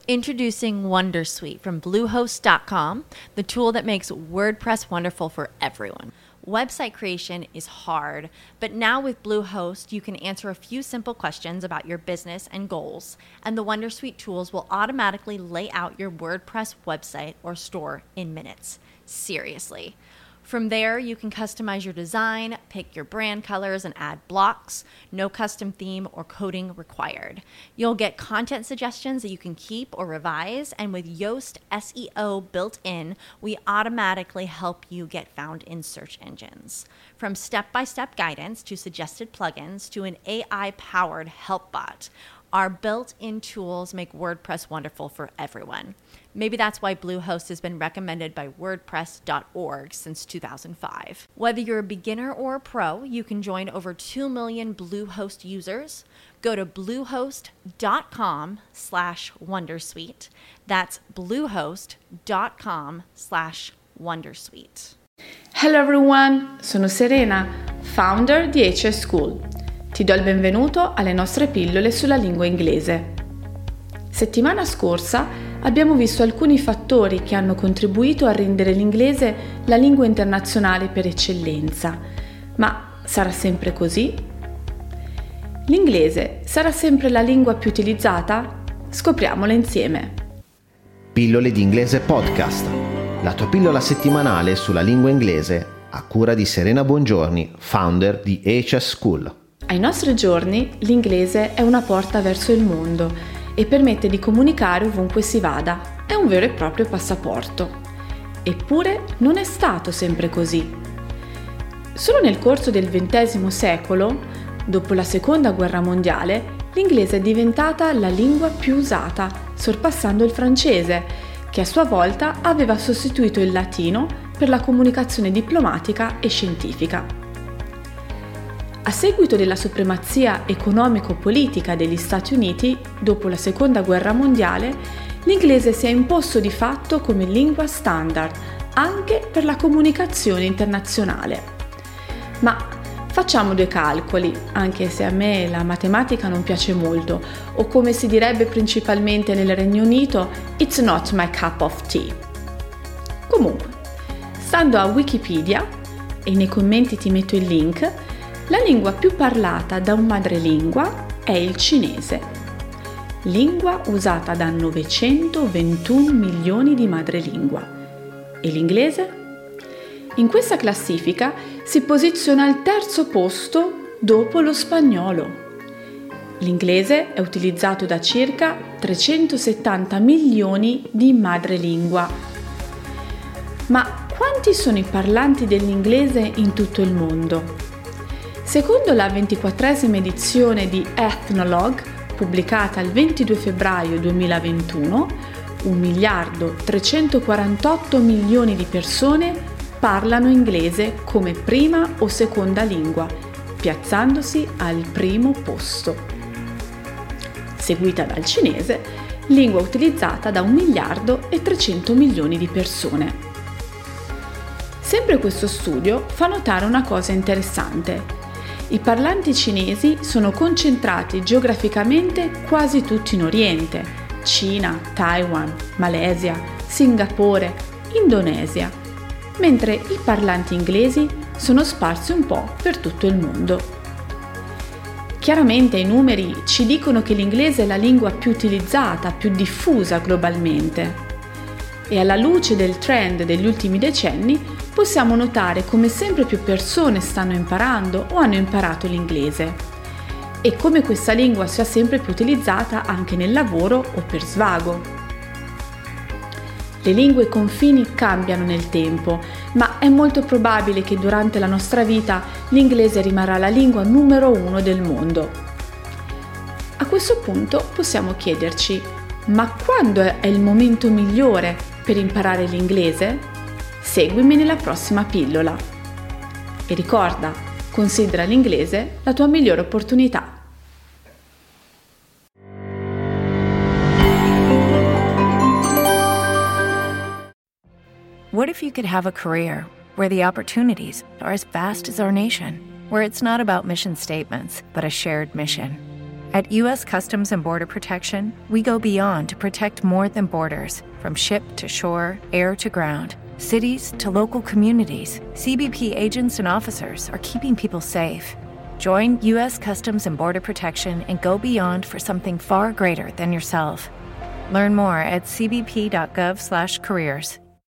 Introducing Wondersuite from Bluehost.com, the tool that makes WordPress wonderful for everyone. Website creation is hard, but now with Bluehost, you can answer a few simple questions about your business and goals, and the Wondersuite tools will automatically lay out your WordPress website or store in minutes. Seriously. From there, you can customize your design, pick your brand colors, and add blocks. No custom theme or coding required. You'll get content suggestions that you can keep or revise, and with Yoast SEO built in, we automatically help you get found in search engines. From step-by-step guidance to suggested plugins to an AI-powered help bot, our built-in tools make WordPress wonderful for everyone. Maybe that's why Bluehost has been recommended by WordPress.org since 2005. Whether you're a beginner or a pro, you can join over 2 million Bluehost users. Go to bluehost.com/wondersuite. That's bluehost.com/wondersuite. Hello everyone, sono Serena, founder di HS School. Ti do il benvenuto alle nostre pillole sulla lingua inglese. Settimana scorsa abbiamo visto alcuni fattori che hanno contribuito a rendere l'inglese la lingua internazionale per eccellenza. Ma sarà sempre così? L'inglese sarà sempre la lingua più utilizzata? Scopriamolo insieme. Pillole di inglese podcast, la tua pillola settimanale sulla lingua inglese a cura di Serena Buongiorni, founder di HS School. Ai nostri giorni l'inglese è una porta verso il mondo e permette di comunicare ovunque si vada. È un vero e proprio passaporto. Eppure non è stato sempre così. Solo nel corso del XX secolo, dopo la Seconda Guerra Mondiale, l'inglese è diventata la lingua più usata, sorpassando il francese, che a sua volta aveva sostituito il latino per la comunicazione diplomatica e scientifica. A seguito della supremazia economico-politica degli Stati Uniti, dopo la Seconda Guerra Mondiale, l'inglese si è imposto di fatto come lingua standard, anche per la comunicazione internazionale. Ma facciamo due calcoli, anche se a me la matematica non piace molto, o come si direbbe principalmente nel Regno Unito, it's not my cup of tea. Comunque, stando a Wikipedia, e nei commenti ti metto il link, la lingua più parlata da un madrelingua è il cinese, lingua usata da 921 milioni di madrelingua. E l'inglese? In questa classifica si posiziona al terzo posto dopo lo spagnolo. L'inglese è utilizzato da circa 370 milioni di madrelingua. Ma quanti sono i parlanti dell'inglese in tutto il mondo? Secondo la 24esima edizione di Ethnologue, pubblicata il 22 febbraio 2021, 1.348 milioni di persone parlano inglese come prima o seconda lingua, piazzandosi al primo posto. Seguita dal cinese, lingua utilizzata da 1.300 milioni di persone. Sempre questo studio fa notare una cosa interessante. I parlanti cinesi sono concentrati geograficamente quasi tutti in Oriente: Cina, Taiwan, Malesia, Singapore, Indonesia, mentre i parlanti inglesi sono sparsi un po' per tutto il mondo. Chiaramente i numeri ci dicono che l'inglese è la lingua più utilizzata, più diffusa globalmente. E alla luce del trend degli ultimi decenni possiamo notare come sempre più persone stanno imparando o hanno imparato l'inglese e come questa lingua sia sempre più utilizzata anche nel lavoro o per svago. Le lingue confini cambiano nel tempo, ma è molto probabile che durante la nostra vita l'inglese rimarrà la lingua numero 1 del mondo. A questo punto possiamo chiederci: ma quando è il momento migliore per imparare l'inglese? Seguimi nella prossima pillola. E ricorda, considera l'inglese la tua migliore opportunità. What if you could have a career where the opportunities are as vast as our nation, where it's not about mission statements, but a shared mission? At U.S. Customs and Border Protection, we go beyond to protect more than borders. From ship to shore, air to ground, cities to local communities, CBP agents and officers are keeping people safe. Join U.S. Customs and Border Protection and go beyond for something far greater than yourself. Learn more at cbp.gov/careers.